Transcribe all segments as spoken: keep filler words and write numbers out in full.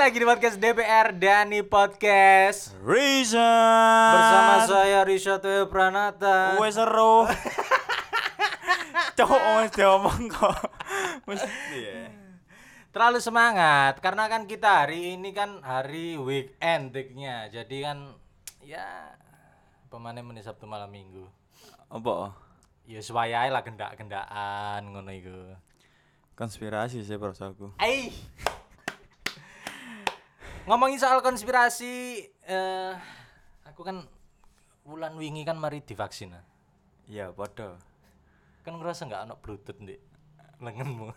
lagi di podcast D P R Dani Podcast Reason bersama saya Rishato Pranata. Wes seru. Cok wes diomong kok. Mesti ya. Terlalu semangat karena kan kita hari ini kan hari weekend diknya. Jadi kan ya pemane menit Sabtu malam Minggu. Apa? Ya suwayae lah gendak-gendakan ngono iku. Konspirasi sih perasaanku. Ai. Ngomongin soal konspirasi, eh aku kan bulan wingi kan mari divaksin. Iya, padha. Kan ngerasa enggak ono bluetooth ndek lenganmu.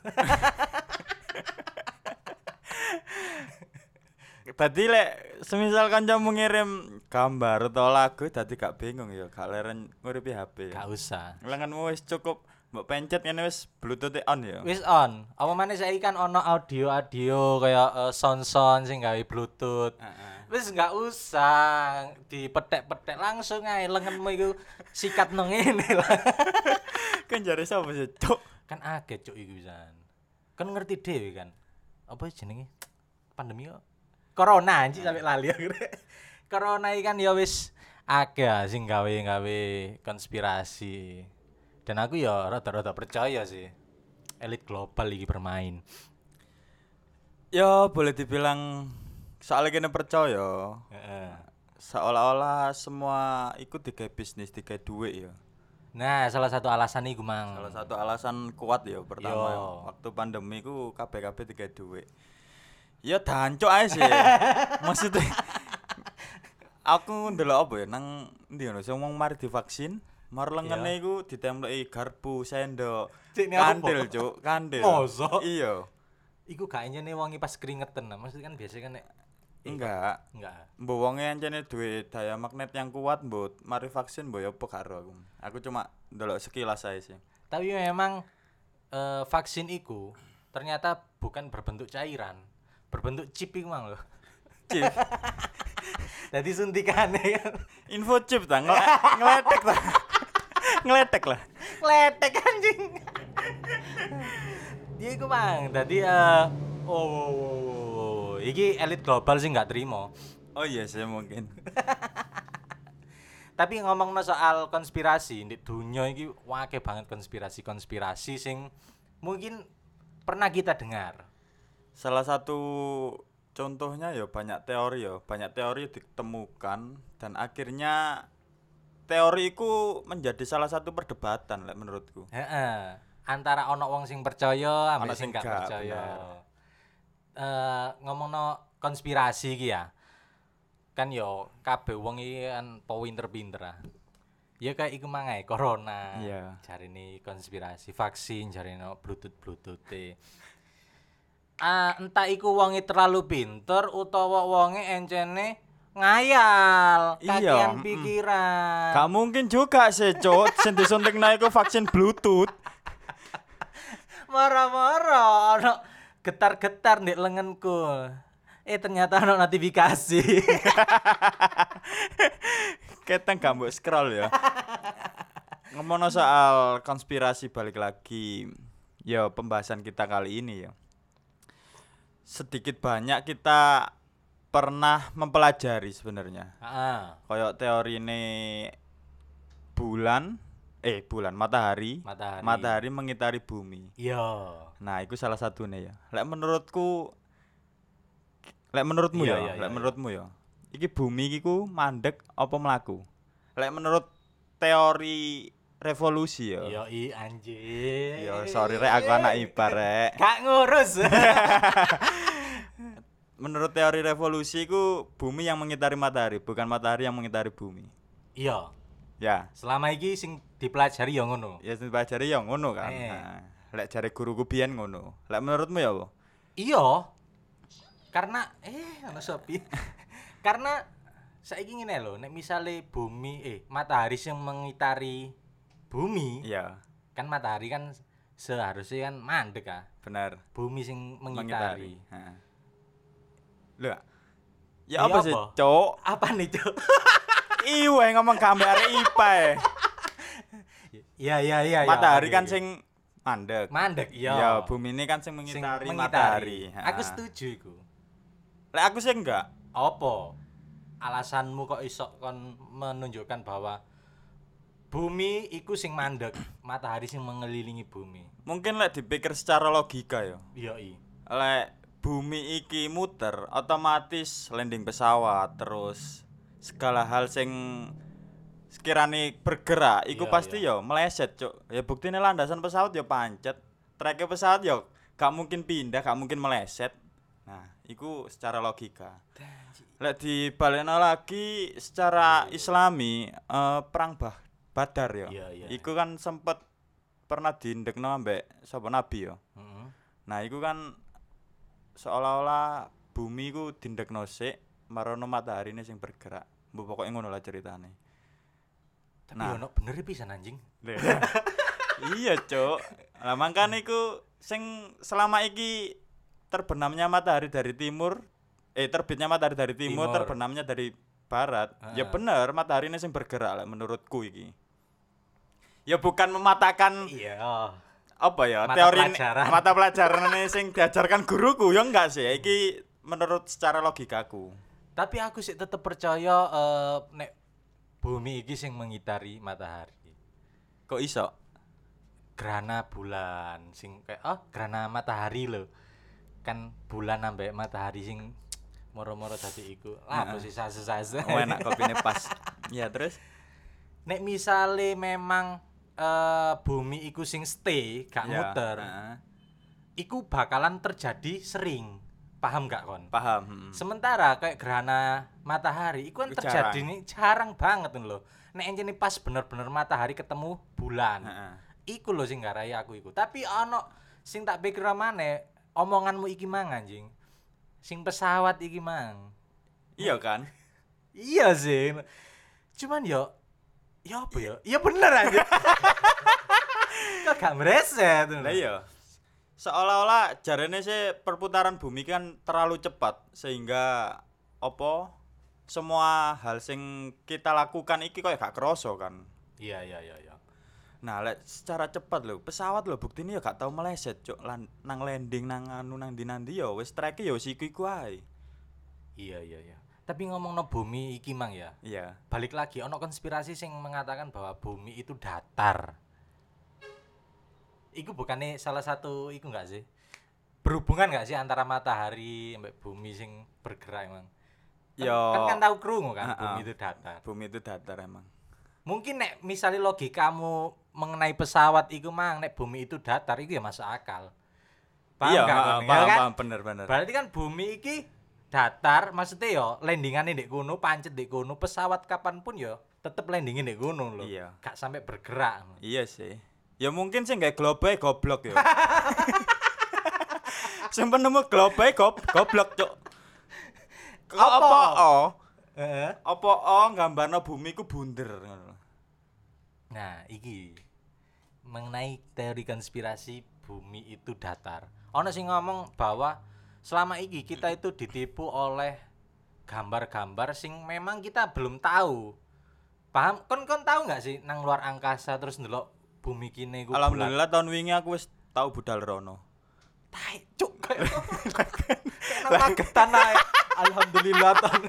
Tadi lek semisal kancamu ngirim gambar atau lagu tadi gak bingung ya, gak leren nguripi H P. Gak usah. Lenganmu wis cukup mbok pencet ngene wis bluetooth on ya. Wis on. Apa maneh saiki kan ono audio-audio kayak uh, sound-sound sing gawe bluetooth. Heeh. Wis enggak usah dipetek-petek langsung ae lenganmu iku sikat nang ngene lah. Kan jare sapa sih, Cuk? Kan akeh cuk iku pisan. Kan ngerti dhewe kan. Apa jenenge? Pandemi kok. Corona anjing sampe lali aku. Corona iki kan ya wis akeh sing gawe-gawe konspirasi. Dan aku ya rada-rada percaya sih. Elit global iki bermain. Ya boleh dibilang soalnya kena percaya. Heeh. Seolah-olah semua ikut digawe bisnis, digawe duit ya. Nah, salah satu alasan iku mang. Salah satu alasan kuat ya pertama Yo. waktu pandemi ku kabeh-kabeh digawe duit. Ya dancuk ae sih. Maksudnya aku ndelok apa ya nang ndi ngono sing ngomong mari divaksin, mar lengene iku ditempelki garpu, sendok, Cik, ini apa? kandil, Cuk, kandil. Mosok? Iya. Iku gak enyene wonge pas keringetan. Nah, maksudnya kan biasanya kan nek Enggak. enggak. Mbok wonge ancene duwe daya magnet yang kuat, mbok mari vaksin mbok ya apa karo aku. Aku cuma ndelok sekilas ae sih. Tapi memang eh, vaksin iku ternyata bukan berbentuk cairan, berbentuk chip iku mang lho. Chip. Jadi suntikannya kan Info chip ta ngel- ngeletek ta. Ngeletek lah. kletek anjing. Dia iku mang. Dadi eh oh, oh, oh, oh. Iki elit global sih nggak terima. Oh iya sih mungkin. Tapi ngomongno soal konspirasi di dunia iki wakeh banget konspirasi-konspirasi sing mungkin pernah kita dengar. Salah satu contohnya ya banyak teori ya, banyak teori ditemukan dan akhirnya teori itu menjadi salah satu perdebatan lek menurutku. Heeh. Antara ono wong sing percaya Ono ambek sing sing gak gak, percaya. bener. Eh ngomongno konspirasi iki ya. Kan yo kabeh wong iki kan po pinter-pinter ah. Ya kayak iku mangae corona. Iya. Jarine konspirasi vaksin, jarine bluetooth-bluetooth. Ah, entah iku wonge terlalu pinter utawa wonge encene ngayal, Iya, kakean mm-mm. pikiran. Gak mungkin juga sih, Cuk, sing disuntikna iku vaksin Bluetooth. Moro-moro ono getar-getar ndek lenganku. Eh ternyata ono notifikasi. Keteng gak mbok scroll ya. Ngomongno soal konspirasi balik lagi. Ya pembahasan kita kali ini ya. Sedikit banyak kita pernah mempelajari sebenarnya. Heeh. Kayak teori ini bulan eh bulan matahari Matahari. matahari mengitari bumi. Iya. Nah, itu salah satunya ya. Lek menurutku lek menurutmu Iya, ya, iya, lek iya, menurutmu ya. Iki bumi iki ku mandek apa mlaku? Lek menurut teori revolusi ya. Iya i anjing. Ya sorry rek aku anak I P A rek. Gak ngurus. Menurut teori revolusi ku bumi yang mengitari matahari, bukan matahari yang mengitari bumi. Iya. Ya, Selama iki sing dipelajari ya ngono. ya sing pelajari ya ngono kan. Eh. Nah, lek jare guruku biyen ngono. Lek menurutmu ya apa? Iya. Karena eh ana sopi. Karena saiki ngene lho, nek misale bumi eh matahari sing mengitari bumi, Iya, kan matahari kan seharusnya kan mandek ah. benar. Bumi sing mengitari. Heeh. Lho. Iya Ya apa sih, apa? Cuk? Apa nih, Cuk? Iwe ngomong gambar arek I P A e. Iya iya iya. Matahari oke, kan oke. sing mandek. mandek, iya. Ya, bumi ini kan sing Sing mengitari, matahari. Aku Ha. setuju iku. Lek aku sih enggak. Apa alasanmu kok iso kon menunjukkan bahwa bumi iku sing mandek, matahari sing mengelilingi bumi? Mungkin lek dipikir secara logika ya. Iya i. Lek bumi iki muter, otomatis landing pesawat terus segala hal sing sekiranya bergerak iku Iya, pasti iya. ya meleset, Cuk. Ya buktine landasan pesawat ya pancet. Treke pesawat ya gak mungkin pindah, gak mungkin meleset. Nah, iku secara logika. Lek dibalekno lagi secara Islami, eh, perang bah Badar ya. Iya, iya. Iku kan sempet pernah diindekno ambek sapa nabi ya. Heeh. Nah, iku kan seolah-olah bumi ku dindekno sik marono mataharine sing bergerak. Mbok pokoke ngono lah ceritane. Tapi Nah. ono bener pisan anjing. Iya, Cuk. Lah mangkane iku sing selama iki terbenamnya matahari dari timur, eh terbitnya matahari dari timur, Timur. terbenamnya dari barat. Ya Heeh. bener, matahari ini sing bergerak lah menurutku iki. Ya bukan mematahkan Iya. apa ya, Mata teori pelajaran. mata pelajaran sing diajarkan guruku ya enggak sih. Iki menurut secara logikaku. Tapi aku sih tetep percaya eh, nek bumi iki sing mengitari matahari. Kok iso? Gerhana bulan sing kayak oh gerhana matahari lho. Kan bulan ambek matahari sing moro-moro dadi iku. Lah apa sih sase-sase. Oh, enak kopine pas. Ya terus Nek misale memang eh, bumi iku sing stay gak ya, muter, heeh. iku bakalan terjadi sering. Paham gak kon? Paham. hmm. Sementara kayak gerhana matahari itu kan Iku terjadi jarang. nih jarang banget loh. Nek encene pas bener-bener matahari ketemu bulan. Heeh. Iku lho sing garai aku iku. Tapi ono sing tak pikir maneh, omonganmu iki mang anjing. Sing pesawat iki mang. Iya kan? Iya sih. Cuman yo ya apa ya? Iya bener aja. Kok gak mereset. Lah iya. Seolah-olah jarene sih perputaran bumi kan terlalu cepat sehingga apa semua hal sing kita lakukan iki koyo gak kerasa kan. Iya iya iya iya. Nah, lek secara cepat lho, pesawat lho buktine ya gak tau meleset, Cuk. Lan, nang landing nang anu nang ndi-ndi ya wis treke ya wis iku-iku ae. Iya iya iya. Tapi ngomongno bumi iki mang ya. Iya. Balik lagi ono konspirasi sing mengatakan bahwa bumi itu datar. Iku bukannya salah satu iku enggak sih? Berhubungan enggak sih antara matahari sampai bumi sing bergerak emang? Kan, Yo. kan kan tahu krungu kan Ha-ha. bumi itu datar. Bumi itu datar emang. Mungkin nek misalnya logikamu mengenai pesawat iku mang nek bumi itu datar iku ya masuk akal. Paham Iya, gak ha, kon? Ya paham, kan? paham, bener bener. Berarti kan bumi iki datar, maksudnya yo landingane ndek kono, pancet ndek kono, pesawat kapanpun yo tetep landingin ndek kono lho. Iya. Gak sampai bergerak. Iya sih. Ya mungkin sih nggak globe goblok ya. Sing penemu globe gob goblok, Cuk. Kok Apa? apa oh? Heeh. Apa oh gambarno bumi ku bunder ngono. Nah, iki mengenai teori konspirasi bumi itu datar. Ono sing ngomong bahwa selama iki kita itu ditipu oleh gambar-gambar sing memang kita belum tahu. Paham? Kon kon tahu nggak sih nang luar angkasa terus ndelok bumi kene iku bulat. Alhamdulillah tahun wingi aku wis tau budal rono. Tai cuk kayak kagetan ae. Alhamdulillah ton.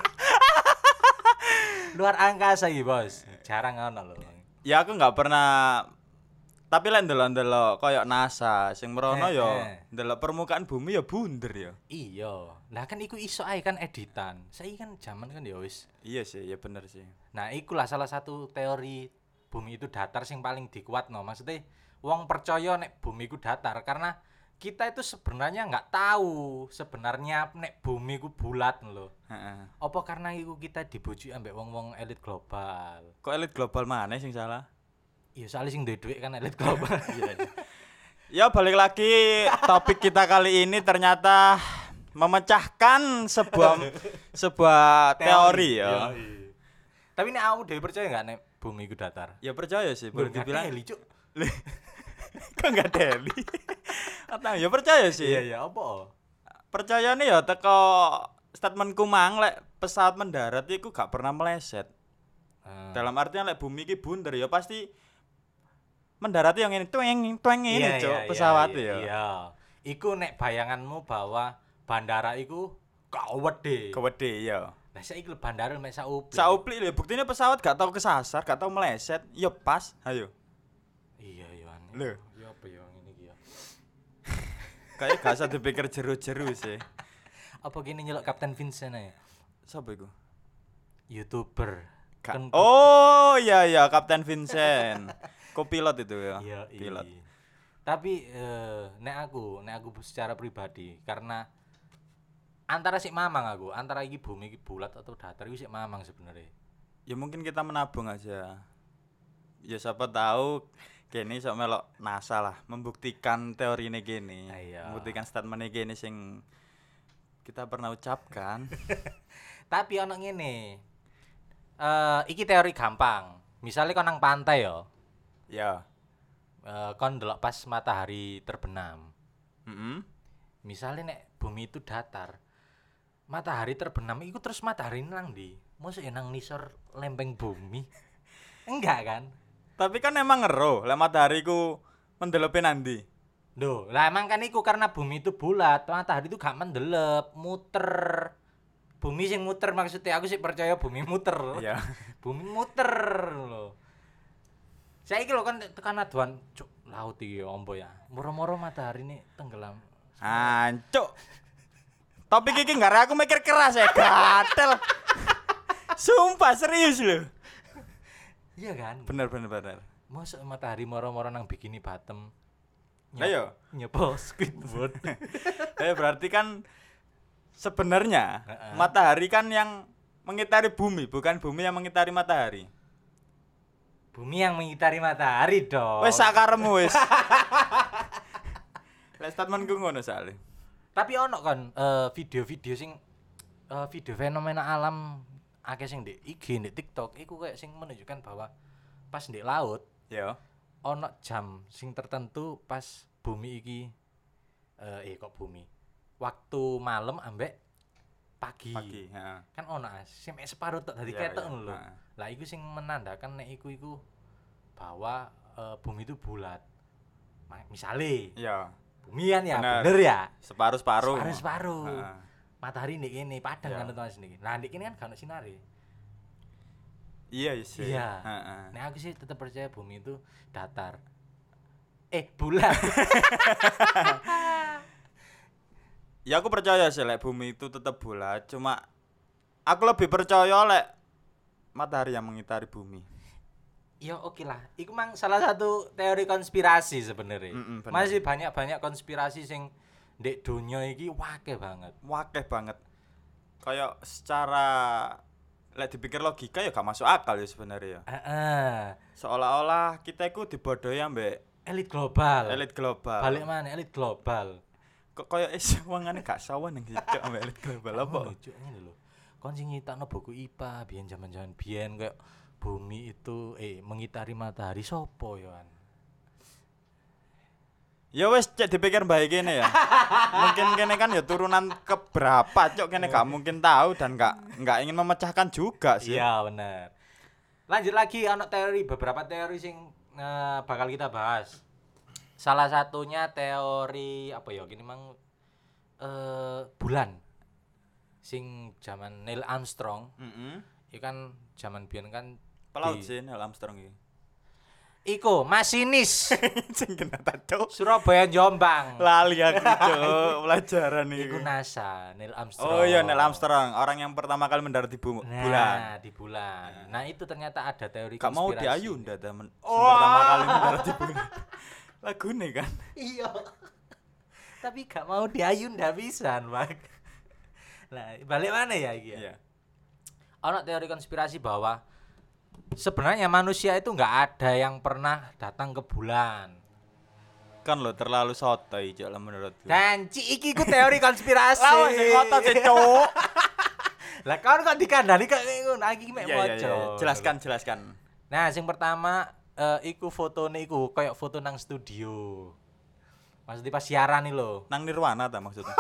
Luar angkasa iki, Bos. Jarang ngono lho. Ya aku nggak pernah tapi lek ndelok-ndelok koyo NASA sing merono Eh, ya eh. ndelok permukaan bumi ya bunder ya. Iya. Lah kan iku iso ae kan editan. Saiki kan zaman kan ya wis. Iya sih, ya bener sih. Nah, ikulah salah satu teori bumi itu datar sing paling dikuatno. Maksudnya wong percaya nek bumi itu datar karena kita itu sebenarnya nggak tahu sebenarnya nek bumi ku bulat lho. Heeh. Apa karena iku kita dibujuki ambek wong-wong elit global. Kok elit global mana sing salah? Iya, soalnya sing duwe dhuwit kan elit global. Iya. Ya balik lagi topik kita kali ini ternyata memecahkan sebuah sebuah teori ya. Iya. Tapi nek kamu dhewe percaya enggak nek bumi iku datar? Ya percaya sih, boleh dibilang. Eli, Cuk. Kok enggak deli. Atau ya percaya sih. Iya, iya, apa? Percaya nih ya teko statementku mang lek pesawat mendarat iku gak pernah meleset. Hmm. Dalam artian lek bumi iki bunder ya pasti mendarat yang ini tueng tueng ini Iya, cuk iya, pesawat iya, ya. Iya. Iku nek bayanganmu bahwa bandara iku Kawede. Kewede ya. Lah saiki le bandara mek saupli. Saupli lho, buktine pesawat gak tau kesasar, gak tau meleset, ya pas. Ayo. Iya iya aneh. Lho. Ya apa ya ngene iki ya. Kayak gak usah dipikir jeru-jeru sih. Apa gini nyelok Kapten Vincent ae? Sapa iku? YouTuber. Ka- Kan- oh iya iya Kapten Vincent. Kopilot itu ya. Iya, Pilot. iya. Tapi eh, nek aku, nek aku secara pribadi karena antara sik mamang aku, antara iki bumi iki bulat atau datar iki sik mamang sebenarnya. Ya mungkin kita menabung aja. Ya siapa tahu kene sok melok NASA lah membuktikan teori ini gini. Ah, iya. Membuktikan statement ini gini sing kita pernah ucapkan. Tapi ono ngene. Eh iki teori gampang. Misalnya kon nang pantai yo, Ya. eh, kon ndelok pas matahari terbenam. Heeh. Misalnya nek bumi itu datar, matahari terbenam itu terus matahari nang ndi? Mosok ya nang nisor lempeng bumi. Enggak kan? Tapi kan emang ngero, lek matahari ku mendelope nandi. Loh, lah emang kan iku karena bumi itu bulat, matahari itu gak mendelep, muter. Bumi sing muter maksudnya aku sih percaya bumi muter. Iya. Bumi muter lho. Saiki lho kan tekan aduan cuk laut iki ombo ya. Moro-moro matahari ini tenggelam. Ancuk. Topik iki nggak aku mikir keras ya, gatel. Sumpah serius loh. Iya kan? Bener bener bener. Mosok matahari moro-moro nang bikini bottom. Ayo. Nyepo Squidward. Eh berarti kan sebenarnya Heeh. matahari kan yang mengitari bumi, bukan bumi yang mengitari matahari. Bumi yang mengitari matahari dong. Wes sakaremu wes. Lek statementku ngono soalnya. Tapi ono kan eh, video-video sing eh, video fenomena alam akeh sing di I G, di TikTok iku kayak sing menunjukkan bahwa pas di laut Ya. ono jam sing tertentu pas bumi iki eh, eh kok bumi. Waktu malam ambek pagi. Pagi, heeh. Kan ono as, sing mek separuh tok dadi Iya, ketok iya, ngono lho. heeh. Lah iku sing menandakan nek iku iku bahwa eh, bumi itu bulat. Ma- Misale Iya. bumi kan ya Bener. bener ya. Separuh-separuh. Separuh-separuh. Heeh. Matahari ndek kene padang Iya. kan teman sini. Nah, ndek kene kan gak ono sinare. Iya sih. Iya. Heeh. Nah, aku sih tetap percaya bumi itu datar. Eh, bulat. Ya aku percaya sih lek bumi itu tetap bulat, cuma aku lebih percaya lek matahari yang mengitari bumi. Ya oke lah. Iku mang salah satu teori konspirasi sebenarnya. Mm-mm, bener. Masih banyak-banyak konspirasi sing ndek donya iki wakeh banget. Wakeh banget. Kayak secara lek dipikir logika ya gak masuk akal ya sebenarnya ya. Heeh. Seolah-olah kita itu dibodohi ambek Elit global. elit global. Balik mana elit global. Kok koyo is wongane gak sawan nang cok ambek elit global apa? Ngono, Cuk, ngene lho. Kon sing nyitakno buku I P A biyen zaman-zaman biyen kayak bumi itu eh mengitari matahari sopo ya kan. Ya wes cek dipikir baik kene ya. Mungkin kene kan ya turunan keberapa cok kene gak mungkin tahu dan gak gak ingin memecahkan juga sih. Iya bener. Lanjut lagi ana teori beberapa teori sing eh, bakal kita bahas. Salah satunya teori apa ya gini mang eh bulan. Sing zaman Neil Armstrong, Heeh. itu kan zaman biyen kan Pelaut di- sih Neil Armstrong iki. Iku masinis Sing kena tato. Surabaya Jombang. Lali aku cok pelajaran Iku iki. NASA, Neil Armstrong. Oh iya Neil Armstrong, orang yang pertama kali mendarat di bu- Nah, bulan. di bulan. Nah, itu ternyata ada teori Gak mau konspirasi. di Ayunda temen. Oh. Pertama kali mendarat di bulan. Lagune kan. Iya. Tapi gak mau di Ayunda pisan, Pak. Nah, balik mana ya iki ya? Iya. Ono teori konspirasi bahwa sebenarnya manusia itu nggak ada yang pernah datang ke bulan. Kan lo terlalu sotoy cok lah menurutku. Dan ci iki ku teori konspirasi. Lawas sing ngotot sih cok. Lah kan kok dikandani kok ngono iki mek Iya iya moco. iya. Jelaskan jelaskan. Nah, sing pertama eh, iku fotone iku kayak foto nang studio. Maksudnya pas siaran nih lho. Nang Nirwana ta maksudnya.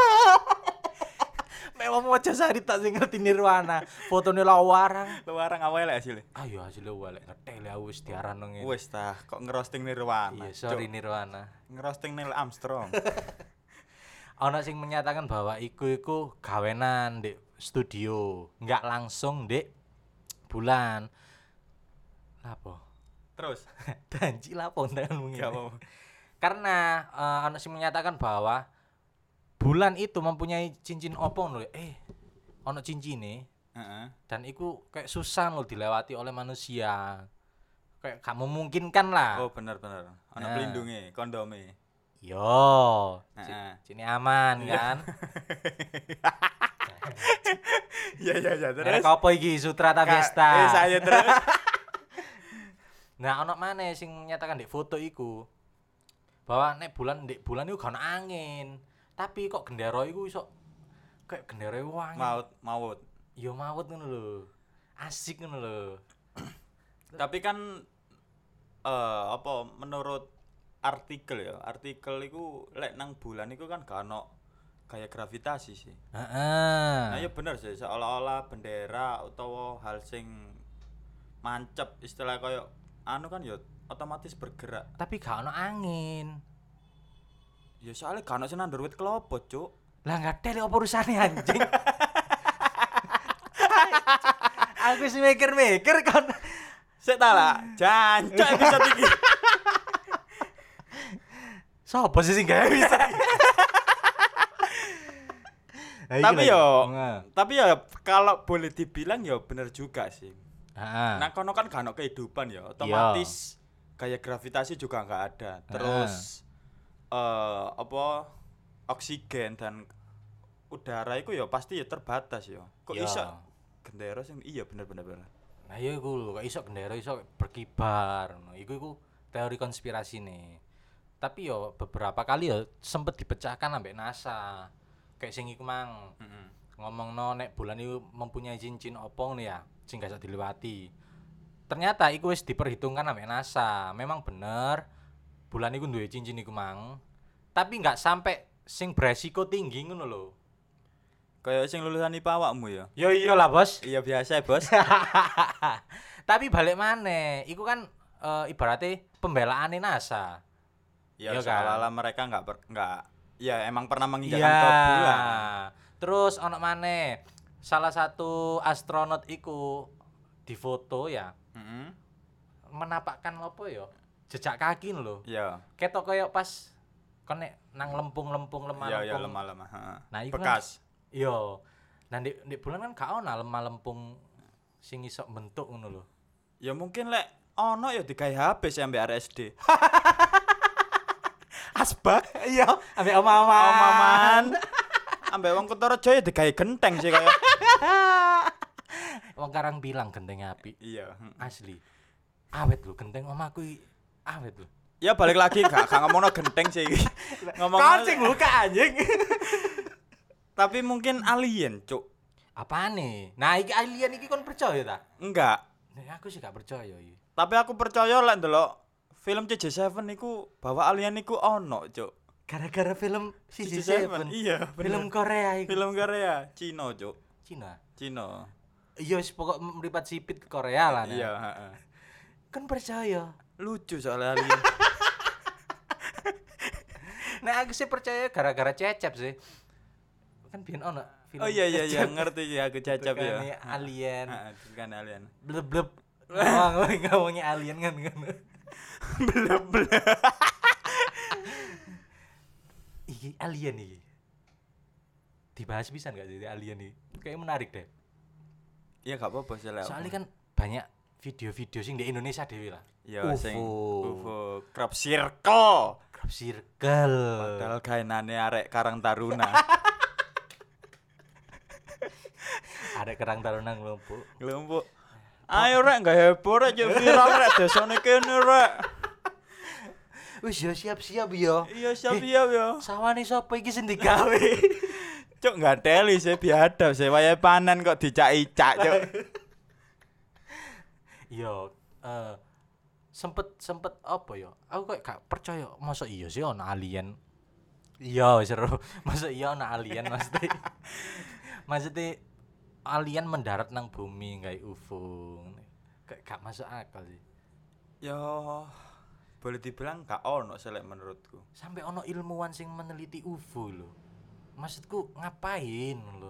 Mek wong moco sari tak sing ngerti Nirwana. Fotone lawarang. Lu warang awal hasilnya. Ayo hasilnya walek ngetel ya wis diaran nang ngene. Wes tah kok ngerosting Nirwana. Iya, sorry Cok. Nirwana. Ngerosting Neil Armstrong. Ono sing menyatakan bahwa iku iku gawenan di studio, enggak langsung di bulan. Lapo? Terus Danci lapo tekan gak apa-apa. Karena uh, ono sing menyatakan bahwa bulan itu mempunyai cincin opo lho. Eh, ono cincine Heeh. dan iku kayak susah loh dilewati oleh manusia. Kayak gak memungkinkan lah. Oh, bener-bener. Ana Nah. pelindunge, kondome. Yo, Heeh. sini aman kan. Iya iya iya Terus apa iki Sutra ta Fiesta? Eh saya terus. Nah, ono maneh sing nyatakan di foto iku bahwa nek bulan ndek bulan iku gak ono angin. Tapi kok gendera iku iso kayak gendera wangi. Maut, maut. Yo maut ngono lho. Asik ngono lho. Tapi kan eh apa menurut artikel ya, artikel iku lek nang bulan iku kan gak ono kayak gravitasi sih. Heeh. Nah, ya bener sih, seolah-olah bendera utawa hal sing mancep istilah koyo anu kan ya otomatis bergerak. Tapi gak ono angin. Ya soalnya gak ono sing nandur wit klopo, Cuk. Lah enggak tele apa urusane anjing. Aku sih mikir-mikir kan. Sik ta lah, jancuk episode iki. Sopo sih sing gawe bisa? Tapi yo, tapi ya kalau boleh dibilang ya bener juga sih. Heeh. Nah, kono kan gak ono kehidupan ya, otomatis kayak gravitasi juga nggak ada. Terus eh apa oksigen dan udara itu ya pasti ya terbatas ya. Kok Iya. iso gendera sing iya bener-bener bener. Nah, iya iku lho, kok iso gendera iso berkibar ngono. Iku iku teori konspirasi nih. Tapi yo beberapa kali ya sempet dipecahkan ambek NASA. Kayak sing iku mang Heeh. ngomongno nek bulan itu mempunyai cincin opo ngono ya, sing gak iso dilewati. Ternyata iku wis diperhitungkan ambek NASA. Memang bener bulan iku duwe cincin iku mang. Tapi nggak sampai sing beresiko tinggi ngono lho. Kayak sing lulusan I P A awakmu ya. Yo iyalah, Bos. Iya biasa, Bos. Tapi balik maneh, iku kan e, ibaratnya pembelaane NASA. Ya Iya kan? seolah-olah mereka nggak per- nggak ya emang pernah menginjakan Iya. ke bulan. Terus ono maneh, salah satu astronot iku difoto ya, Heeh. menapakkan apa ya? Jejak kaki lho. Iya. Ketok koyo pas kon nek nang lempung-lempung lemah Iya iya lempung. lemah-lemah, heeh. Nah, iku kan- Bekas. Iya. Nah, di, di bulan kan gak ono lemah lempung sing iso bentuk ngono lho. Ya mungkin lek ono ya digawe H P sih ambek R S D. Asbak. Iya, ambek oma-oma. Omaman. Ambek wong Kutorejo ya digawe genteng sih kaya. Wong Karang bilang genteng api. Iya. Asli. Awet lho genteng omaku iki awet lho. Ya balik lagi gak gak ngomongno genteng sih iki. Ngomong Kancing buka anjing. tapi mungkin alien, Cuk. Apaan nih? Nah, iki alien iki kon percaya ta? Enggak. Nah, aku sih gak percaya iki. Tapi aku percaya lek ndelok film C J tujuh iku bahwa alien iku ono, Cuk. Gara-gara film C C J J tujuh. Iya, Film bener. Korea iki. Film Korea, Cina, Cuk. Cina. Cina. Iya, wis pokok mripat sipit ke Korea lah. Nah. Iya, heeh. Kan percaya. Lucu soalnya alien. Nah, aku sih percaya gara-gara Cecep sih. Kan biyen ono film. Oh iya iya iya, Cecep. ngerti ya aku cacap ya. Tukangnya alien. Heeh, kan alien. Bleb bleb. Ngomong ngomongnya alien kan kan. Bleb bleb. Iki alien iki. Dibahas bisa enggak sih alien iki? Kayak menarik deh. Iya gak apa-apa sih lek. Soalnya kan banyak video-video sing di Indonesia dhewe lah. ya U F O. sing U F O crop circle. Crop circle. Padahal gaenane arek Karang Taruna. Ada kerang taruna ngelumpuk. Ngelumpuk. Ayo rek gak heboh rek yo viral rek desane kene rek. Wis ya siap-siap ya. Iya siap-siap yo. Sawane sapa iki sing digawe? Cuk gak teli sih biadab sih wayahe panen kok dicak-icak cuk. Iya, eh sempet sempet apa ya? Aku kayak gak percaya, masa iya sih ono alien. Iya, seru. Masa iya ono alien maksudnya. Maksudnya alien mendarat nang bumi kayak U F O. Kayak gak masuk akal sih. Yo boleh dibilang gak ono sih lek menurutku. Sampai ono ilmuwan sing meneliti U F O lho. Maksudku ngapain lho?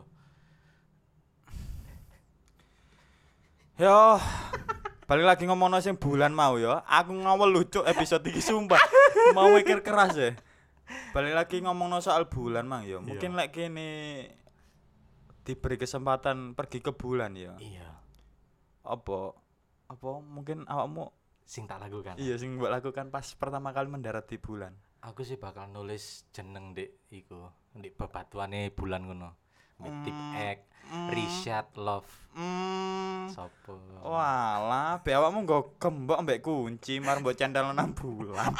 Yo, balik lagi ngomongno sing bulan mau ya. Aku ngawel lucu episode iki sumpah. Mau mikir keras ya. Balik lagi ngomongno soal bulan mang ya. Mungkin lek kene diberi kesempatan pergi ke bulan ya. Iya. Apa? Apa mungkin awakmu Sing tak lakukan. iya sing mbok lakukan pas pertama kali mendarat di bulan. Aku sih bakal nulis jeneng Dik iku, Dik bebatuane bulan ngono. Tip X, Richard Love. Hmm. Sopo? Walah, be awakmu nggo gembok mbek kunci mar mbok cendal nang bulan.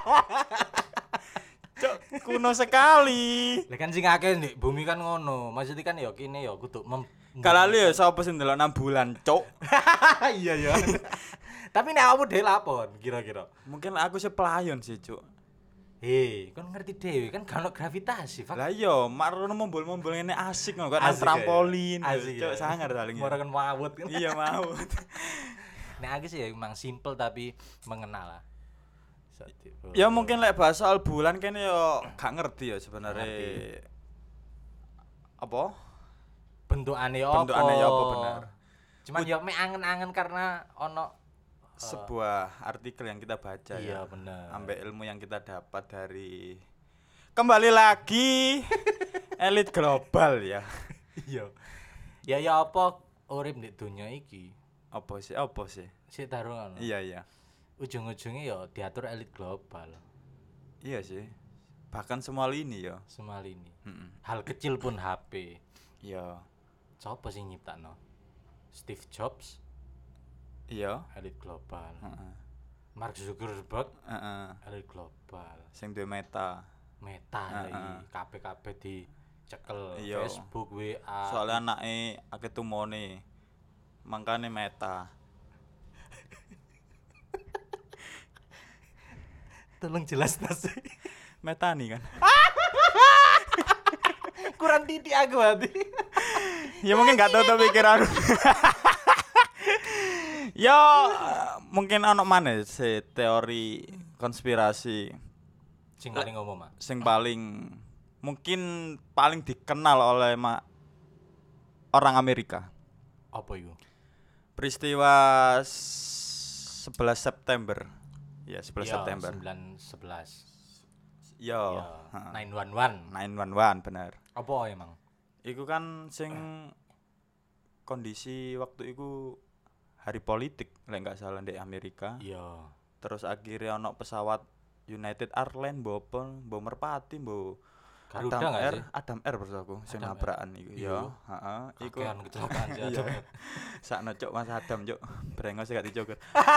Cuk, kuno sekali. Lah kan sing akeh Dik bumi kan ngono. Maksudnya kan ya kene ya kudu mem Kalali ya sapa sing ndelok nang bulan, cuk. Iya ya. Tapi nek awakmu dhewe lapon kira-kira. Mungkin aku sih pelayon sih, cuk. Hei, kan ngerti dhewe kan gak ono gravitasi, Fak. Lah iya, marono mombol-mombol ngene asik ngono kan Asik, trampolin. ya. Asik, Cuk, ya. sangar daling. Moro kan mawut kan. Iya mau. Nek aku sih ya emang simple tapi mengenal lah. Sati- Ya mungkin lek bahas soal bulan kene yo gak ngerti ya sebenarnya. Ngerti. Apa? Bentukane apa? Bentukane ya apa bener. Cuman ya mek angen-angen karena ono Sebuah artikel yang kita baca iya ya. bener. Ambek ilmu yang kita dapat dari kembali lagi elit global ya. Iya. Ya ya apa urip di dunia iki? Apa sih? Apa sih? Sik taruh ngono. Iya iya. Ujung-ujungnya ya diatur elit global. Iya sih. Bahkan semua lini ya. Semua ini. Heeh. Hal kecil pun H P. Iya. Sopo sing nyiptakno? Steve Jobs, Iya. elit global. Heeh. Mark Zuckerberg, Heeh. elit global. Sing duwe meta. Meta Heeh. iki kabeh-kabeh dicekel. Iya. Facebook, W A. Soalnya anake akeh tumone. Mangkane meta. Tolong jelas tas. Meta nih kan. Kurang titik aku hati. Ya mungkin gak tahu tuh pikiran. Ya mungkin ono mana sih teori konspirasi Sing paling umum, Mak. sing paling mungkin paling dikenal oleh ma- orang Amerika. Apa iku? Peristiwa sebelas September. Ya, sebelas September. sembilan sebelas. Yo, nine one one. nine one one bener. Apa emang? Iku kan sing kondisi waktu iku hari politik lek enggak salah di Amerika. Iya. Terus akhirnya ono pesawat United Airlines mbok apa mbok merpati mbok Garuda Adam nggak Air, sih? Adam Air bersaku sing Adam Air. nabrakan iku. Iya. Ya, heeh, iku. Kakean kecelakaan sih Iya. Adam. Sakno cuk Mas Adam cuk. Brengos gak dicoker.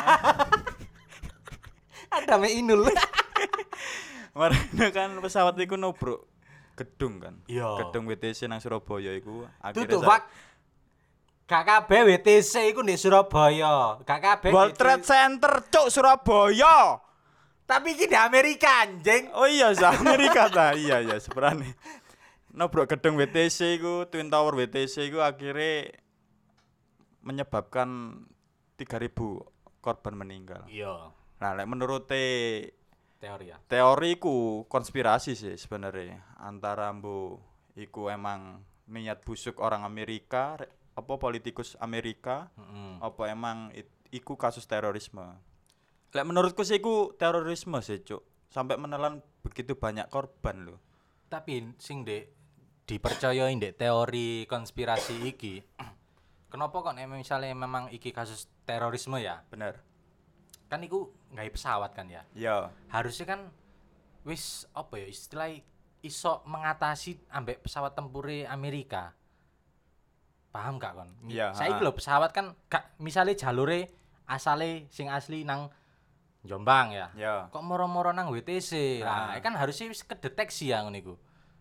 Ada me inul. Marane kan pesawat iku nubruk gedung kan. Iya. Gedung W T C nang Surabaya iku Tutup, sa- Pak. Gak kabeh W T C iku di Surabaya. Gak kabeh. World W T C. Trade Center cuk Surabaya. Tapi iki di Amerika anjing. Oh iya, sa Amerika ta. Iya iya sebenarnya. Nubruk gedung W T C iku, Twin Tower W T C iku akhirnya menyebabkan tiga ribu korban meninggal. Iya. Nah, lek menurut Teori ya. teori iku konspirasi sih sebenarnya antara mbu iku emang niat busuk orang Amerika, re- apa politikus Amerika, Heeh. apa emang it- iku kasus terorisme. Lek menurutku sih iku terorisme sih, Cuk. Sampai menelan begitu banyak korban loh. Tapi sing dek dipercayai dek teori konspirasi iki. Kenapa kok nek misalnya memang iki kasus terorisme ya? Bener. Kan iku nggawe pesawat kan ya. Ya, Harusnya kan wis apa ya istilah iso mengatasi ambek pesawat tempure Amerika. Paham gak kon? Mi- Iya, Saiki ha. lho pesawat kan gak misale jalure asale sing asli nang Jombang ya. ya. Kok moro-moro nang W T C. Ah. Nah, kan harusnya wis kedeteksi ya ngono iku.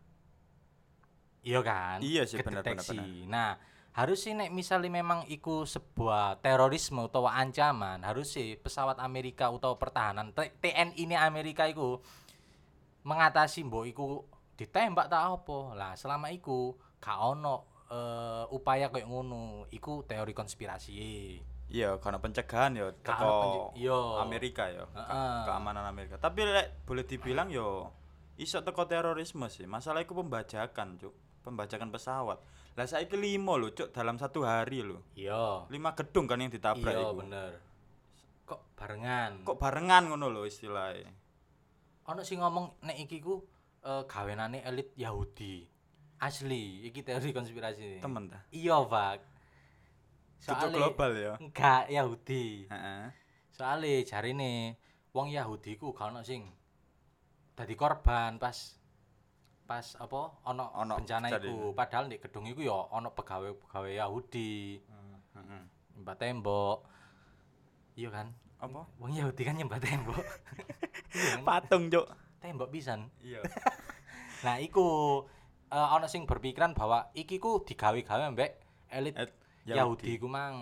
Iya kan? Iya sih, bener, bener, Kedeteksi. Nah, harusnya nek misalnya memang iku sebuah terorisme utawa ancaman, harusnya pesawat Amerika utawa pertahanan T- TNI ini Amerika iku mengatasi mbok iku ditembak tak apa. Lah, selama iku gak ono eh, upaya koyo ngono, iku teori konspirasi. Iya, karena pencegahan ya Gak teko ono pence- iya. Amerika ya, ke- Heeh. keamanan Amerika. Tapi lek boleh dibilang yo iso teko terorisme sih. Masalah iku pembajakan, Cuk. Pembajakan pesawat. Lah saiki limo lho, Cuk, dalam satu hari lho. Iya. Lima gedung kan yang ditabrak Iya, iku. bener. Kok barengan? Kok barengan ngono lho istilahnya. Ono sing ngomong nek iki ku uh, gawenane elit Yahudi. Asli, iki teori konspirasi. Temen ta? Iya, Pak. Cucuk global ya. Enggak Yahudi. Heeh. Soale jarine wong Yahudi ku gak ono sing dadi korban pas pas apa ono Ono bencana kejadian. iku. Padahal di gedung iku ya ono pegawai-pegawai Yahudi. Heeh. Nyembah tembok. Iya kan? Apa? Wong Yahudi kan nyembah tembok. Iya kan? Patung, Cuk. Tembok pisan. Iya. Nah, iku uh, ono sing berpikiran bahwa iki ku digawe-gawe mbek elit Et, Yahudi ku mang.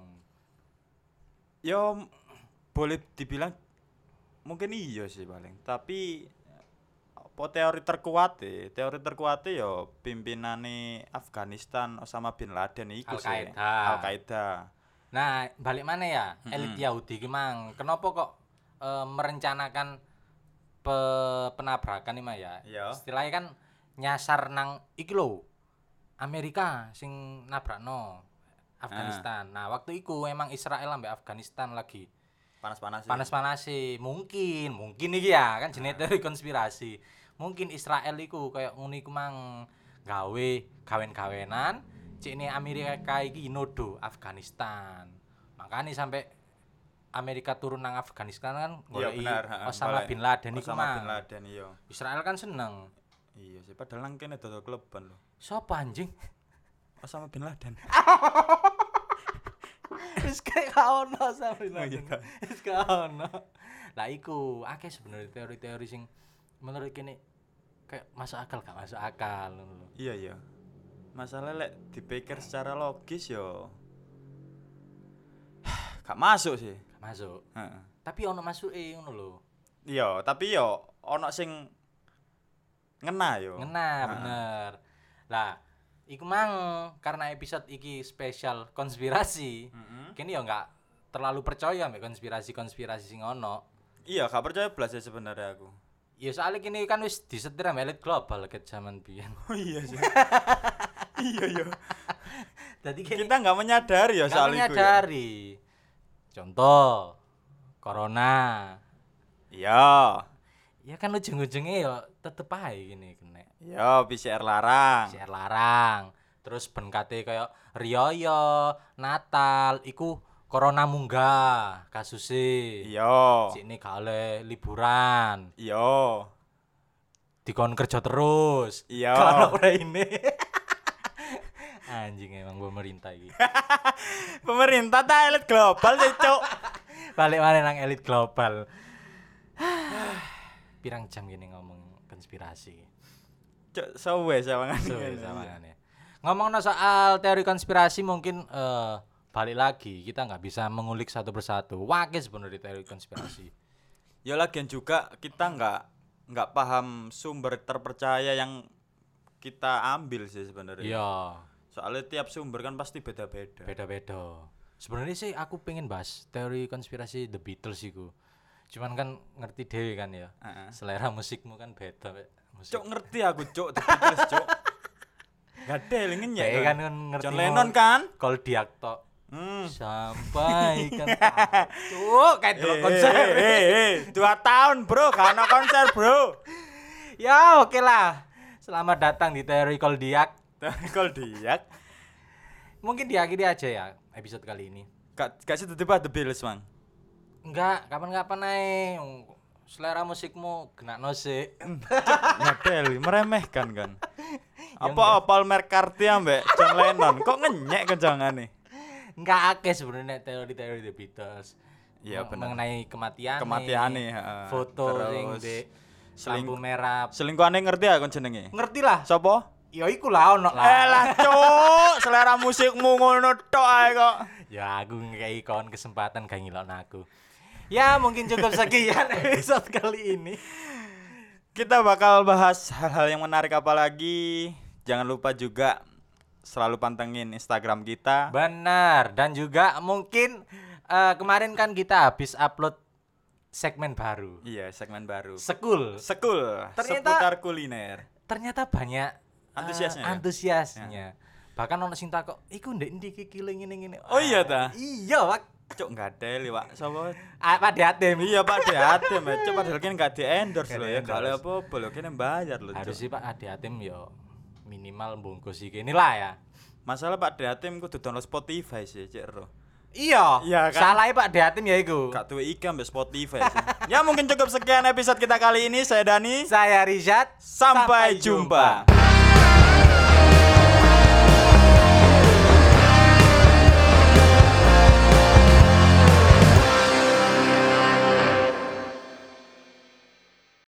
Yo m- boleh dibilang mungkin iya sih paling. Tapi apa teori terkuat e? Teori terkuat e yo pimpinane Afghanistan Osama bin Laden iku sih. Al-Qaeda. Al-Qaeda. Nah, balik mana ya? Elit Mm-mm. Yahudi ki mang. Kenapa kok uh, merencanakan pe- penabrakan iki mah ya? Iya. Istilahnya kan nyasar nang iki lho. Amerika sing nabrakno Afghanistan. Nah, waktu iku emang Israel ambek Afghanistan lagi Panas-panas. panas-panas sih. Mungkin, mungkin iki ya kan jenis teori konspirasi. Mungkin Israel iku kayak ngono iku mang gawe gawen-gawenan cek ini Amerika iki nodo Afghanistan. Makanya sampai Amerika turun nang Afghanistan kan Iya goleki benar, heeh. Osama Golek bin Laden iku Osama bin mang. Laden iya. Israel kan seneng. Iya sih padahal nang kene dodol kleban lho. Sopo anjing? Osama bin Laden. Wis kayak gak ono Osama bin Oh, iya, Laden. kan? Wis gak ono. Lah iku akeh sebenarnya teori-teori sing menurut kene kayak masuk akal gak masuk akal ngono lho. Iya iya. Masalah lek dipikir secara logis yo gak masuk sih. Gak masuk. Heeh. Tapi ono masuke ngono lho. Iya, tapi yo ono sing ngena yo. Ngena Heeh. bener. Lah, iku mang karena episode iki spesial konspirasi. Heeh. Kene yo enggak terlalu percaya ambek konspirasi-konspirasi sing ono. Iya, gak percaya blas sih sebenarnya aku. Ya soalnya kini kan wis disetir ambek elit global ket zaman biyen. Oh iya sih. Iya iya. Dadi kene Kita nggak menyadari ya nggak soal itu. Ya. menyadari. Contoh corona. Iya. Ya kan ujung-ujungnya ya tetep ae gini kena. Iya, P C R larang. P C R larang. Terus ben kate kaya riyo Natal iku corona munggah kasusé. Iya. Sini gak oleh liburan. Iya. Dikon kerja terus. Iya. Kalau udah ini. Anjing emang pemerintah iki. Pemerintah ta elit global sih, Cuk. Balik mana nang elit global. Pirang jam gini ngomong konspirasi. Cuk, suwe sawangan. Suwe sawangannya. Ngomongno soal teori konspirasi mungkin eh balik lagi kita nggak bisa mengulik satu persatu. Wakil sebenarnya teori konspirasi. Ya lagian juga kita nggak nggak paham sumber terpercaya yang kita ambil sih sebenarnya. Iya, Soalnya tiap sumber kan pasti beda-beda. beda-beda. Sebenarnya sih aku pengen bahas teori konspirasi The Beatles iku. Cuman kan ngerti dewe kan ya. Heeh. Selera musikmu kan beda Pak. Musik. Cuk ngerti aku, Cuk, The Beatles, Cuk. Gak ada yang ngenyek. Dewe kan kan ngerti. John Lennon kan? Kol diakto. Hmm. Sampai kan. Cuk, kayak delok Eh, konser. eh, eh, eh, dua tahun bro, gak ada konser bro. Ya, oke lah. Selamat datang di teori Koldiak. Kalau diak, Mungkin diakhiri aja ya episode kali ini. gak gak sih tiba The Beatles mang. Enggak, kapan-kapan ae. Selera musikmu kena nose. Ngadel, meremehkan kan. Apa Paul McCartney ambek John Lennon, kok ngenyek kenjangane? Enggak akeh sebenarnya teori-teori The Beatles. Iya, Meng- bener. Mengenai kematian. Kematiane, heeh. Foto Terus sing di seling- lampu merah. Selingkuhane ngerti aku jenenge. Ngerti lah. Sopo? Ya iku lah ono Eh lah. lah cuk, selera musikmu ngono tok ae kok. Ya aku ngekei kawan kesempatan gak ngilokno aku. Ya mungkin cukup sekian episode kali ini. Kita bakal bahas hal-hal yang menarik apa lagi. Jangan lupa juga selalu pantengin Instagram kita. Benar, dan juga mungkin eh, kemarin kan kita habis upload segmen baru. Iya, segmen baru. Sekul. Sekul, Ternyata- seputar kuliner. Ternyata banyak eh, Antusiasnya ya? antusiasnya. Bahkan ono sing takok, "Iku ndek ndi iki kile ngene-ngene." Oh iya ta? Iya, Pak. Cuk enggak ada li, Pak. Sapa? Ah, Pak Diatem. Iya, Pak Deatem. Cuk padahal kene enggak di-endorse Nggak lho ya. Enggak di-endorse. apa-apa lho, kene bayar lho. Harus Cuk. sih Pak Adi Atem yo minimal bungkus iki inilah ya. Masalah Pak Deatem kudu download Spotify sih, Cek Ro. Iya, Iya kan? Salah Pak Adi Atem ya iku. Gak tuh ikan mbak Spotify sih. Ya mungkin cukup sekian episode kita kali ini. Saya Dani. Saya Rizat. Sampai jumpa.